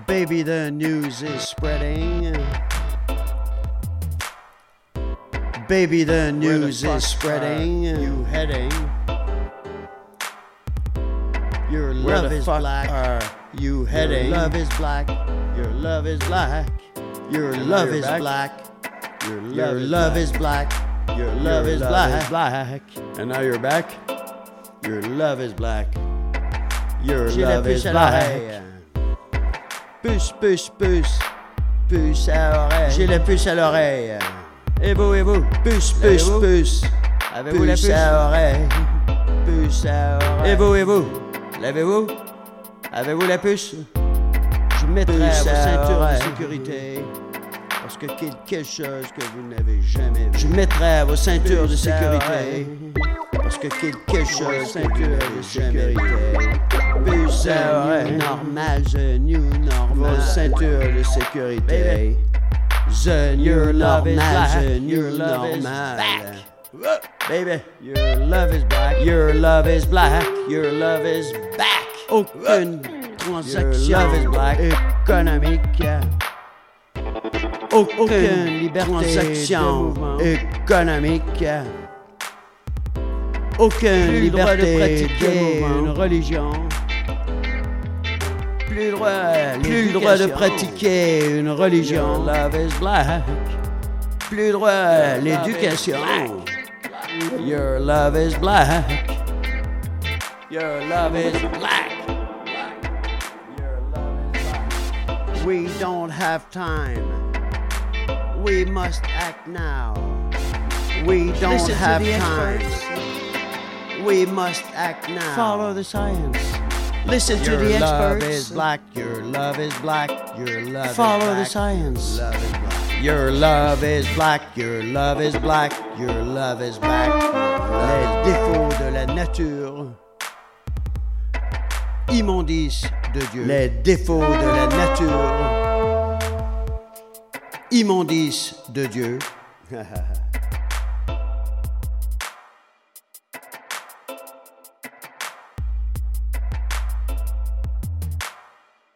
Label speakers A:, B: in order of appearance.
A: Baby, the news is spreading. Baby, the news is spreading. You heading? Your love is black. Are you heading? Your love is black. Your love is black. Your love is black. Your love is black. Your love is black.
B: And now you're back.
A: Your love is black. Your love is black. Puce, puce, puce. Puce à l'oreille. J'ai la puce à l'oreille.
B: Et vous?
A: Puce, puce, puce.
B: Avez-vous la puce?
A: Puce à l'oreille. Puce à l'oreille.
B: Et vous? L'avez-vous? Avez-vous la puce?
A: Je mettrai vos ceintures
B: oreille.
A: de sécurité. Parce que quelque chose que vous n'avez jamais vu.
B: Je mettrai vos ceintures de sécurité.
A: Parce que quelque chose ceinture de sécurité. Puce à l'oreille. Normal, the new normal.
B: Vos ceintures de sécurité.
A: The new
B: love is
A: normal,
B: black.
A: the new
B: Your love is
A: normal.
B: back.
A: Baby, your love is black.
B: Your love is black. Your love is back.
A: Aucune transaction
B: Your love is black.
A: économique. Aucune
B: liberté
A: transaction
B: de mouvement.
A: économique. Aucune
B: Plus le droit de
A: liberté
B: pratiquer
A: de
B: une
A: mouvement.
B: religion.
A: Plus
B: Plus le droit de pratiquer une religion.
A: Your love is black. Plus droit à l'éducation. Your love is black. Your love is black. Your love is black. We don't have time. We must act now. We don't
B: Listen to
A: have
B: the
A: time.
B: experts.
A: We must act now.
B: Follow the science. Listen to
A: Your
B: the
A: love
B: experts.
A: is black. Your love is black. Your love
B: Follow
A: is
B: the
A: black.
B: science.
A: Your love is black. Your love is black. Your love is black. Your love is black. Les défauts de la nature. Immondice de Dieu. Les défauts de la nature. Immondice de Dieu.